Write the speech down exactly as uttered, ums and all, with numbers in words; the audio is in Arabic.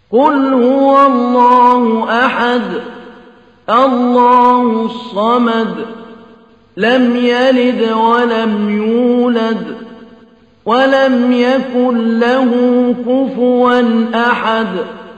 قل هو الله أحد الله الصمد لم يلد ولم يولد ولم يكن له كفوا أحد